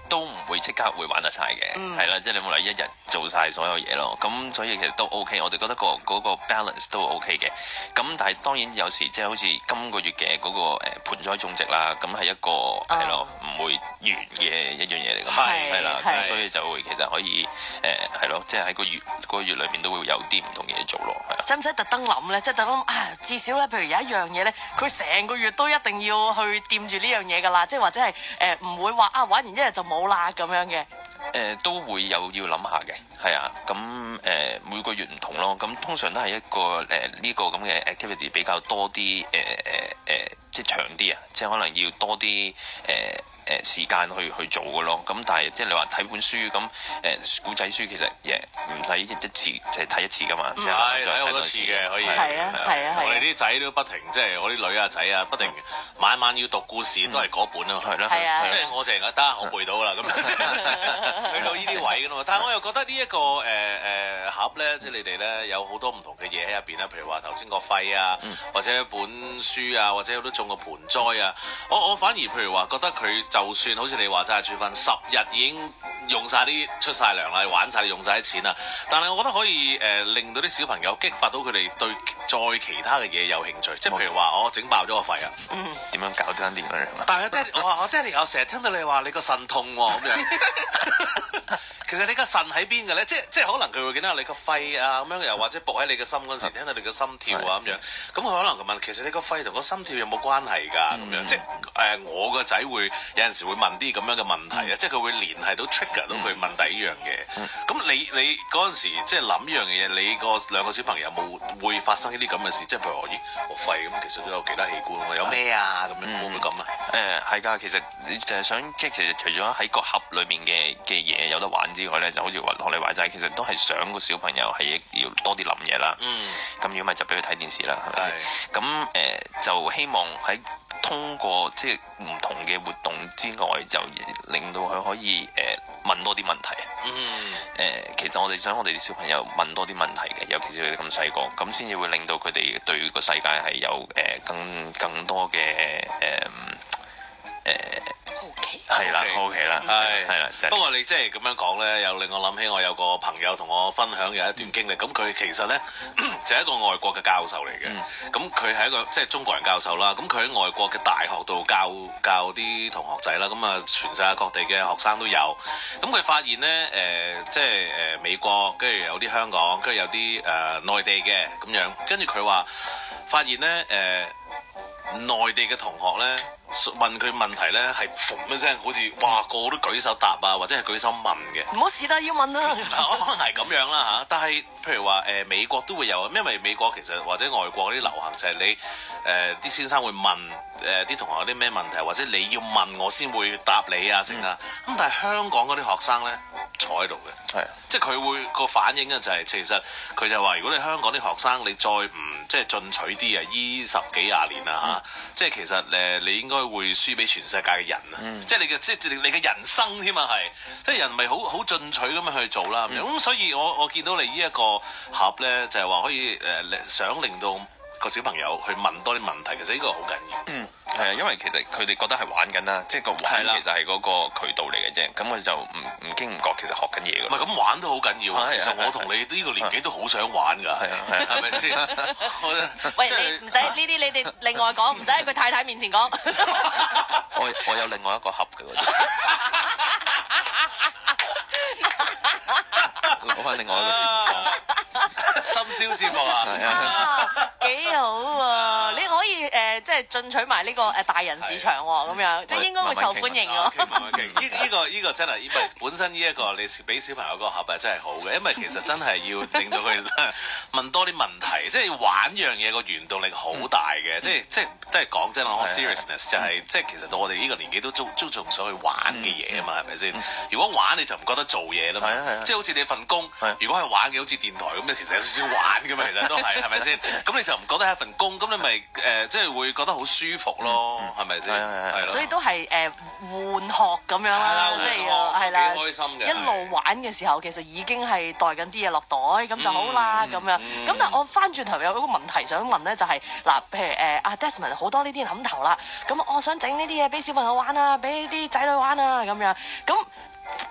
會即刻會玩得晒嘅，係啦、嗯，即係你冇嚟一日做晒所有嘢咯。咁所以其實都 OK，我哋覺得個嗰個 balance 都 OK 嘅。咁但係當然有時即係好似今個月嘅嗰個誒盆栽種植啦，咁係一個係咯唔會完嘅一樣嘢嚟㗎嘛，係啦，咁所以就會其實可以誒係咯，即係喺個月嗰個月裏面都會有啲唔同嘅嘢做咯。 使唔使特登諗咧？即係特登啊，至少咧，譬如有一樣嘢咧，佢成個月都一定要去掂住呢樣嘢㗎啦，即係或者係誒唔會話啊玩完一日就冇啦咁樣嘅。 誒、呃、都會有要諗下嘅，係啊，咁誒、呃、每個月唔同咯，咁通常都係一個誒呢、呃這個咁嘅 activity 比較多啲，誒誒誒即係長啲啊，即係可能要多啲誒。呃誒時間去去做嘅咯，咁但係即係你話睇本書咁誒古仔書其實誒唔使一次就係睇一次噶嘛，即係睇好多次嘅可以。係啊係啊係。 我哋啲仔都不停，即係我啲女啊仔啊，不停晚晚要讀故事都係嗰本咯。係咯。係啊。即係我淨係得我背到啦咁，去到呢啲位噶嘛。但係我又覺得呢一個誒誒盒咧，即係你哋咧有好多唔同嘅嘢喺入邊啦，譬如話頭先個肺啊，或者一本書啊，或者好多種個盆栽啊。我我反而譬如話覺得佢。就算好似你話齋，住份十日已經用晒啲出晒糧啦，玩晒用晒啲錢啦，但係我覺得可以誒、呃、令到啲小朋友激發到佢哋對再其他嘅嘢有興趣，即係譬如話我整爆咗個肺啊， 點樣搞啲點樣啊？ 但係爹哋，我話我爹哋，我成日聽到你話你個腎痛喎咁樣。其實你個腎喺邊嘅咧？即係即係可能佢會見到你個肺啊咁樣，又或者伏喺你嘅心嗰陣時，聽到你嘅心跳啊咁樣。咁佢可能佢問：其實你個肺同個心跳有冇關係㗎？咁樣即係誒，我個仔會有陣時會問啲咁樣嘅問題啊，即係佢會聯繫到 trigger 到佢問第一樣嘢。咁你你嗰陣時即係諗呢樣嘢，你個兩個小朋友有冇會發生呢啲咁嘅事？即係譬如話咦，我肺咁其實都有其他器官，有咩啊咁樣會唔會咁啊？ 誒係㗎，其實你就係想即係其實除咗喺個盒裏面嘅嘅嘢有得玩之外咧，就好似話學你話齋，其實都係想個小朋友係要多啲諗嘢啦。咁如果咪就俾佢睇電視啦，係咪先？咁誒、呃、就希望喺通過即係唔同嘅活動之外，就令到佢可以誒、呃、問多啲問題。嗯。誒、呃，其實我哋想我哋啲小朋友問多啲問題嘅，尤其是佢哋咁細個，咁先至會令到佢哋對個世界係有誒、呃、更更多嘅誒誒。 OK， 係啦，OK 啦，係係啦。 不過你即係咁樣講咧，又令我諗起我有個朋友同我分享有一段經歷。咁佢其實咧就係一個外國嘅教授嚟嘅。咁佢係一個即係中國人教授啦。咁佢喺外國嘅大學度教教啲同學仔啦。咁啊，全世界各地嘅學生都有。咁佢發現咧，誒即係誒美國，跟住有啲香港，跟住有啲誒內地嘅咁樣。跟住佢話發現咧，誒內地嘅同學咧。問佢問題咧，係嘭一聲，好似哇個個都舉手答啊，或者係舉手問嘅。 唔好試啦，要問啦。 可能係咁樣啦嚇，但係譬如話誒、呃、美國都會有，因為美國其實或者外國嗰啲流行就係你誒啲、呃、先生會問誒啲、呃、同學有啲咩問題，或者你要問我先會答你啊成啊。咁、嗯、但係香港嗰啲學生咧坐喺度嘅，係的即係佢會個反應咧就係、是、其實佢就話如果你香港啲學生你再唔即係進取啲啊，依十幾廿年啦嚇，嗯、即係其實誒你應該會輸俾全世界嘅人啊！嗯、即係你嘅即係你嘅人生添啊，係即係人咪好好進取咁樣去做啦咁樣。咁、嗯、所以我我見到你呢一個盒咧，就係、是、話可以誒、呃、想令到個小朋友去問多啲問題，其實呢個好緊要。嗯， 係啊，因為其實佢哋覺得係玩緊啦，即係個玩其實係嗰個渠道嚟嘅啫。咁我就唔唔經唔覺其實學緊嘢㗎。 唔係咁玩都好緊要。啊、其實我同你呢個年紀都好想玩㗎。係啊，係咪先？ 喂，你唔使呢啲，你哋另外講，唔使喺佢太太面前講。 我我有另外一個盒嘅嗰啲。攞翻另外一個節目講。 深宵節目啊，係啊，幾好啊！你可以誒，即係進取埋呢個誒大人市場喎，咁樣即係應該會受歡迎喎。 慢慢傾，呢呢個呢個真係，因為本身呢一個你俾小朋友個盒係真係好嘅，因為其實真係要令到佢問多啲問題，即係玩樣嘢個原動力好大嘅，即係即係都係講真啦，我 seriousness 就係即係其實到我哋呢個年紀都都都仲想去玩嘅嘢啊嘛，係咪先？如果玩你就唔覺得做嘢啦嘛，即係好似你份工，如果係玩嘅好似電台咁，其實有少少玩嘅嘛，其實都係，係咪先？咁你就唔覺得係一份工，咁你咪誒即係會覺得好舒服咯，係咪先？係咯。 所以都係誒玩學咁樣啦，即係係啦， 幾開心嘅。 一路玩嘅時候，其實已經係袋緊啲嘢落袋，咁就好啦咁樣。咁但係我翻轉頭有一個問題想問咧，就係嗱，譬如誒阿 Desmond 好多呢啲諗頭啦，咁我想整呢啲嘢俾小朋友玩啊，俾啲仔女玩啊咁樣咁。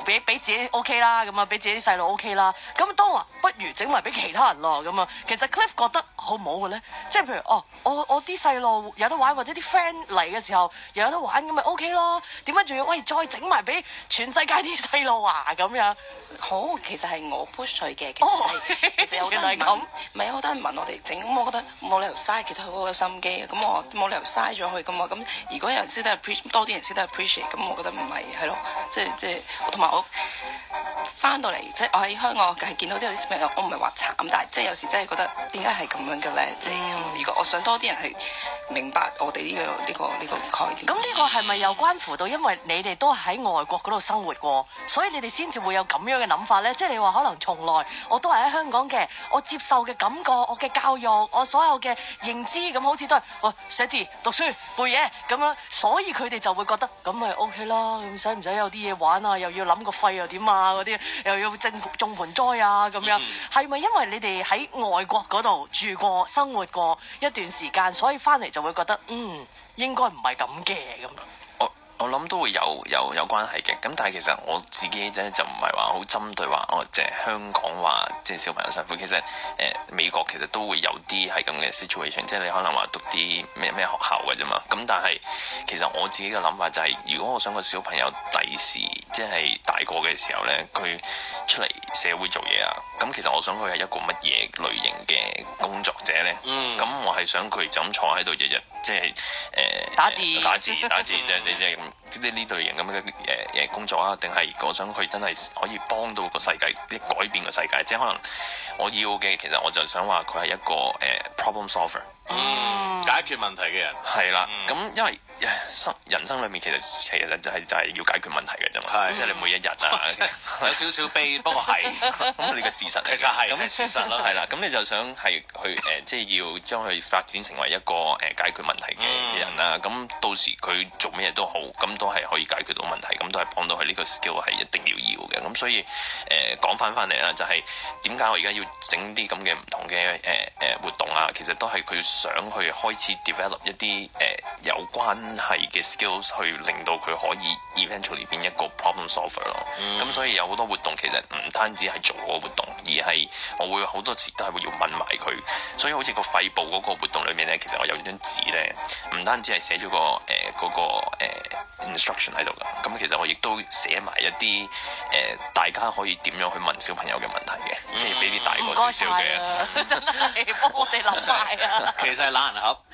俾俾自己 OK 啦，咁啊俾自己啲細路 OK 啦。咁當話不如整埋俾其他人咯，咁啊，其實 Cliff 覺得好唔好嘅咧？即係譬如哦，我我啲細路有得玩，或者啲 friend 嚟嘅時候又有得玩，咁咪 OK 咯。點解仲要喂再整埋俾全世界啲細路啊？咁樣好，其實係我 push 佢嘅，其實係、哦、其實有啲人問，唔係好多人問我哋整，咁我覺得冇理由嘥，其實佢好有心機嘅，咁我冇理由嘥咗佢噶嘛。咁如果有人識得 appreciate， 多啲人識得 appreciate，咁我覺得唔係係咯，即係即係同埋我翻到嚟，即係我喺香港係見到啲有啲小朋友，我唔係話慘，但係即係有時真係覺得點解係咁樣嘅咧？即係、嗯、如果我想多啲人去明白我哋呢、呢個呢、呢個呢、呢個概念。 咁呢個係咪又關乎到因為你哋都喺外國嗰度生活過，所以你哋先至會有咁樣嘅諗法咧？即係你話可能從來我都係喺香港嘅，我接受嘅感覺，我嘅教育，我所有嘅認知咁好似都係喂寫字、讀書、背嘢咁樣，所以佢哋就會覺得咁咪 OK 啦。咁使唔使有啲嘢玩啊？又要諗個肺又點啊？嗰啲又要種種盆栽啊咁樣，係咪因為你哋喺外國嗰度住過、生活過一段時間，所以翻嚟就會覺得嗯應該唔係咁嘅咁？ 我諗都會有有有關係嘅，咁但係其實我自己咧就唔係話好針對話哦，即係香港話即係小朋友辛苦。其實誒、呃、美國其實都會有啲係咁嘅 situation， 即係你可能話讀啲咩咩學校嘅啫嘛。咁但係其實我自己嘅諗法就係、是，如果我想個小朋友第時即係大個嘅時候咧，佢出嚟社會做嘢啊，咁其實我想佢係一個乜嘢類型嘅工作者咧？嗯，咁我係想佢就咁坐喺度日日即係誒、呃、 打字打字打字，即係你即係呢呢類型咁嘅誒誒工作啊，定係我想佢真係可以幫到個世界，啲改變個世界，即係可能我要嘅，其實我就想話佢係一個誒、呃、problem solver， 嗯，解決問題嘅人係啦。咁、嗯、因為生人生裏面其實其實就係就係要解決問題嘅啫嘛，即係你每一日啊有少少悲，不過係咁你嘅事實嚟嘅， 其實係咁事實咯， 係啦。咁你就想係去誒、呃，即係要將佢發展成為一個誒、呃、解決問題嘅嘅人啦。咁、嗯、到時佢做咩嘢都好，咁都係可以解決到問題，咁都係幫到佢呢個 skill 係一定要要嘅。咁所以誒講翻翻嚟啦，就係點解我而家要整啲咁嘅唔同嘅誒誒活動啊？其實都係佢想去開始 develop 一啲誒、呃、有關係嘅 skills 去令到佢可以 eventually 變一個 problem solver 咯。咁、嗯、所以有好多活動其實唔單止係做嗰個活動，而係我會好多時都係會要問埋佢。所以好似個肺部嗰個活動裏面咧，其實我有張紙咧，唔單止係寫咗個誒嗰、呃嗰個、呃、instruction 喺度噶。咁其實我亦都寫埋一啲誒、呃、大家可以點樣去問小朋友嘅問題嘅，嗯、即係俾啲大個少少嘅， 真係幫我哋諗晒啊！ 其實係懶人盒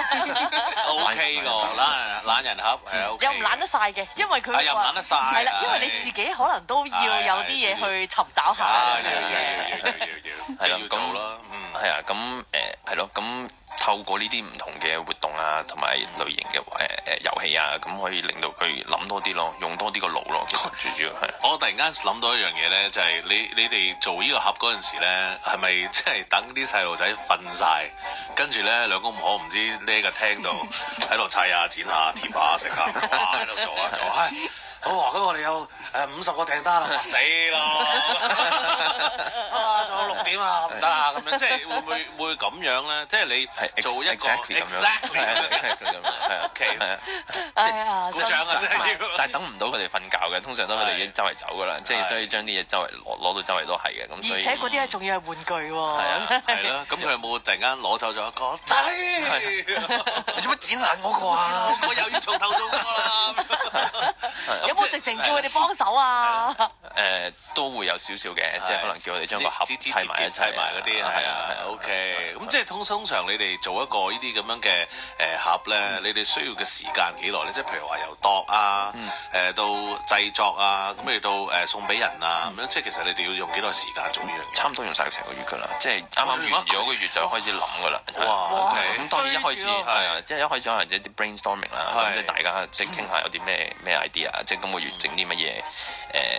，O K 個懶懶人盒係 O K。又唔懶得晒嘅，因為佢又唔懶得晒， 係啦，因為你自己可能都要有啲嘢去尋找下嘅。 要要要要要要，係啦，要做咯，嗯， 係啊，咁誒係咯，咁透過呢啲唔同嘅活動啊，同埋類型嘅誒誒遊戲啊，咁可以令到佢諗多啲咯，用多啲個腦咯。其實最主要係。 我突然間諗到一樣嘢咧，就係你你哋做呢個盒嗰陣時咧，係咪即係等啲細路仔瞓晒，跟住咧兩公婆唔知匿個廳度喺度砌下、剪下、貼下、食下，哇喺度做啊做啊！好啊！咁我哋有誒五十個訂單啦，死咯！啊，仲有六點啊，唔得啊！咁樣即係會唔會會咁樣咧？即係你做一個 exactly 咁樣，係啊，OK，係啊，鼓掌啊！即係， 但係等唔到佢哋瞓覺嘅，通常都佢哋已經周圍走噶啦，即係所以將啲嘢周圍攞攞到周圍都係嘅，咁所以而且嗰啲咧仲要係玩具喎， 係啊， 係咯，咁佢有冇突然間攞走咗一個仔？你做乜剪爛我個啊？我又要從頭做過啦！ 有冇直情叫佢哋幫手啊？ 誒都會有少少嘅，即係可能叫我哋將個盒砌埋一齊，砌埋嗰啲係啊係啊 OK。咁即係通通常你哋做一個呢啲咁樣嘅誒盒咧，你哋需要嘅時間幾耐咧？即係譬如話由度啊，誒到製作啊，咁嚟到誒送俾人啊咁樣，即係其實你哋要用幾多時間做呢樣嘢？差唔多用晒成個月㗎啦，即係啱啱完咗個月就開始諗㗎啦。哇！OK。咁當然一開始係啊，即係一開始可能即係啲 brainstorming 啦，咁即係大家即係傾下有啲咩咩 idea，即係今個月整啲乜嘢誒食譜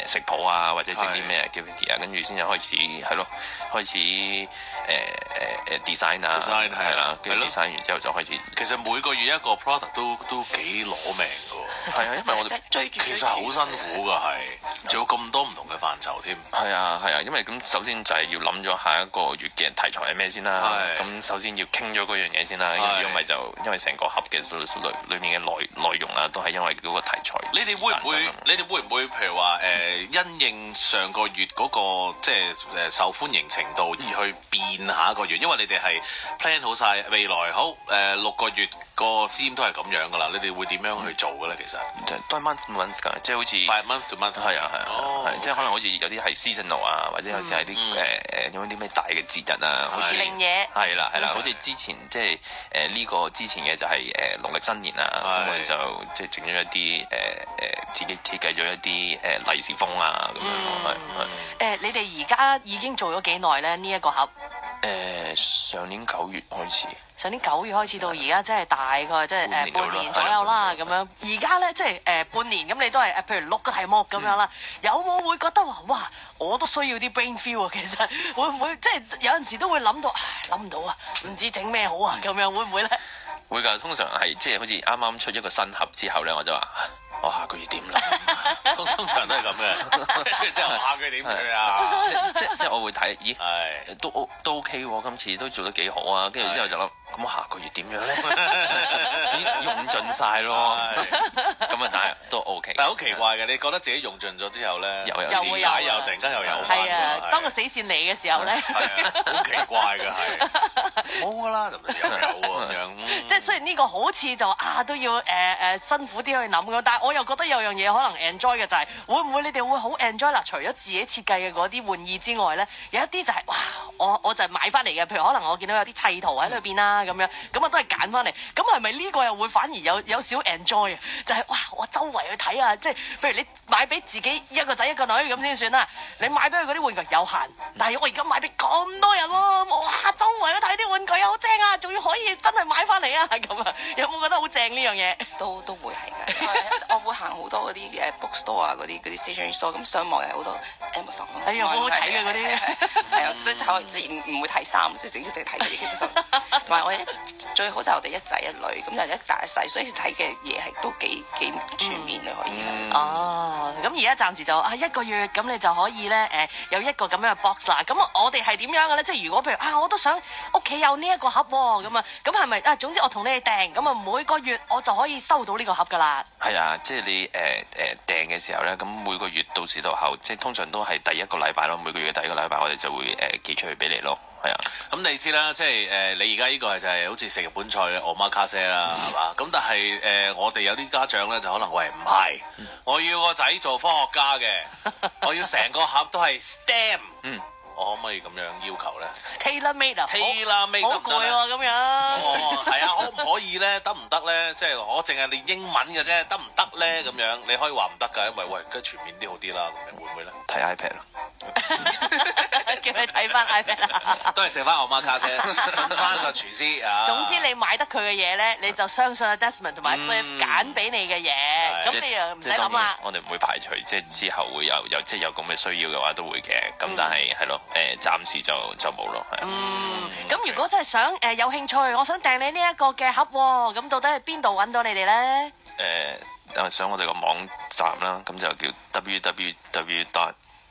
啊，或者整啲咩 activity 啊，跟住先至開始係咯，開始誒誒誒 design 啊，係啦，跟住 design 完之後就開始。 其實每個月一個 product 都都幾攞命㗎。係啊，因為我哋追住， 其實好辛苦㗎，係，仲有咁多唔同嘅範疇添。 係啊係啊，因為咁首先就係要諗咗下一個月嘅題材係咩先啦。咁首先要傾咗嗰樣嘢先啦，因為就因為成個盒嘅裏裏面嘅內內容啊，都係因為嗰個題材。 你哋會唔會？你哋會唔會譬如話誒、呃，因應上個月嗰、那個即係誒受歡迎程度而去變下一個月？因為你哋係 plan 好晒未來好誒、呃、六個月個 theme 都係咁樣噶啦。你哋會點樣去做嘅咧？其實都係 month to month 㗎，即係好似 by month to month。係啊係啊，係、oh. 即係可能好似有啲係 seasonal 啊，或者有時係啲誒誒有啲咩大嘅節日啊，好似令嘢係啦係啦，好似之前即係誒呢個之前嘅就係誒農曆新年啊，咁我哋就即係整咗一啲誒誒自己設計咗一啲誒利是封啊咁樣咯，係係。 誒，你哋而家已經做咗幾耐咧？呢一個盒誒上年九月開始， 上年九月開始到而家，即係大概即係誒半年左右啦咁樣。而家咧即係誒半年咁，你都係誒譬如六個題目咁樣啦。有冇會覺得話哇，我都需要啲 brain feel 啊？其實會唔會即係有陣時都會諗到，唉諗唔到啊，唔知整咩好啊咁樣，會唔會咧？ 會㗎，通常係即係好似啱啱出一個新盒之後咧，我就話。我下個月點啦？ 通通常都係咁嘅，即係我下個月點去啊？ 即即我會睇，咦？係都都 OK 喎，今次都做得幾好啊！跟住之後就諗，咁我下個月點樣咧？已經用盡晒咯，咁啊，但係都 OK。但係好奇怪嘅，你覺得自己用盡咗之後咧，又有啲解，又突然間又有翻。 係啊，當個死線嚟嘅時候咧， 好奇怪嘅係冇噶啦，又有咁樣。 即係雖然呢個好似就啊都要誒誒辛苦啲去諗嘅，但係我又覺得有樣嘢可能 enjoy 嘅就係會唔會你哋會好 enjoy 啦？除咗自己設計嘅嗰啲玩意之外咧，有一啲就係哇，我我就係買翻嚟嘅，譬如可能我見到有啲砌圖喺裏邊啦咁樣，咁啊都係揀翻嚟。咁係咪呢個又會反而有有少 enjoy 啊？就係哇，我周圍去睇啊，即係譬如你買俾自己一個仔一個女咁先算啦。你買俾佢嗰啲玩具有限，但係我而家買俾咁多人喎，哇，周圍去睇啲玩具好正啊，仲要可以真係買翻嚟啊咁啊，有冇覺得好正呢樣嘢？ 都都會係㗎，我會行好多嗰啲誒 bookstore 啊，嗰啲嗰啲 stationery store，咁上網又好多 Amazon。 哎呀，好好睇嘅嗰啲， 係啊，即係自然唔會睇衫，即係淨係淨係睇嗰啲。其實同埋我一最好就係我哋一仔一女，咁就一大一細，所以睇嘅嘢係都幾幾全面嘅可以。 哦，咁而家暫時就啊一個月，咁你就可以咧誒有一個咁樣嘅 box 啦。咁我哋係點樣嘅咧？即係如果譬如啊，我都想屋企有呢一個盒喎，咁啊，咁係咪啊？總之我同你哋訂，咁啊每個月我就可以收到呢個盒噶啦。 係啊，即係你誒誒訂嘅時候咧，咁每個月到時到後，即係通常都係第一個禮拜咯。每個月嘅第一個禮拜，我哋就會誒寄出去俾你咯。係啊，咁你知啦，即係誒你而家呢個係就係好似食日本菜嘅 omakase啦，係嘛？咁但係誒我哋有啲家長咧就可能喂唔係，我要個仔做科學家嘅，我要成個盒都係 STEM。嗯。我可唔可以咁樣要求咧 ？Tailor made 啊 ，Tailor made 好攰喎咁樣。 哦，係啊，可唔可以咧？得唔得咧？即係我淨係練英文嘅啫，得唔得咧？咁樣你可以話唔得㗎，因為喂，梗係全面啲好啲啦，咁樣會唔會咧？ 睇 iPad 咯。 叫你睇翻 iPad 啊！ 都係食翻我媽卡啫，信翻個廚師啊！ 總之你買得佢嘅嘢咧，你就相信阿 Desmond 同埋 Cliff 揀俾你嘅嘢，咁你又唔使諗啦。 我哋唔會排除，即係之後會有有即係有咁嘅需要嘅話，都會嘅。咁但係係咯，誒暫時就就冇咯，係。嗯， 咁如果真係想誒有興趣，我想訂你呢一個嘅盒喎，咁到底係邊度揾到你哋咧？ 誒，上我哋個網站啦，咁就叫 w w w dot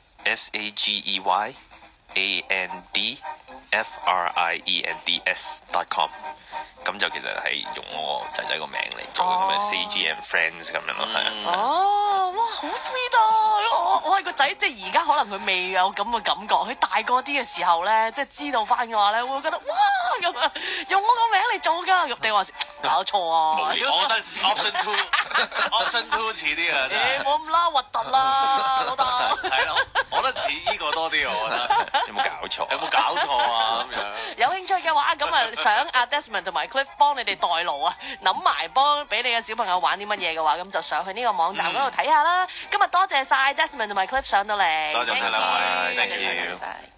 s a g e y a n d f r i e n d s dot com， 咁就其實係用我仔仔個名嚟做咁嘅 C G and Friends 咁樣咯，係啊。哦， 哇，好 sweet 啊！我我係個仔，即係而家可能佢未有咁嘅感覺，佢大個啲嘅時候咧，即係知道翻嘅話咧，會覺得哇咁啊，用我個名嚟做㗎，咁定話搞錯啊？ 我覺得 option two，option two 似啲啊。 誒，冇咁啦，核突啦，老豆。 係咯，我覺得似呢個多啲，我覺得。 有冇搞錯？ 有冇搞錯啊？咁樣。 有興趣嘅話，咁啊想阿 Desmond 同埋 Cliff 幫你哋代勞啊，諗埋幫俾你嘅小朋友玩啲乜嘢嘅話，咁就上去呢個網站嗰度睇下啦。今日多謝晒 Desmond 同埋 Cliff 上到嚟， 多謝晒， 多謝晒。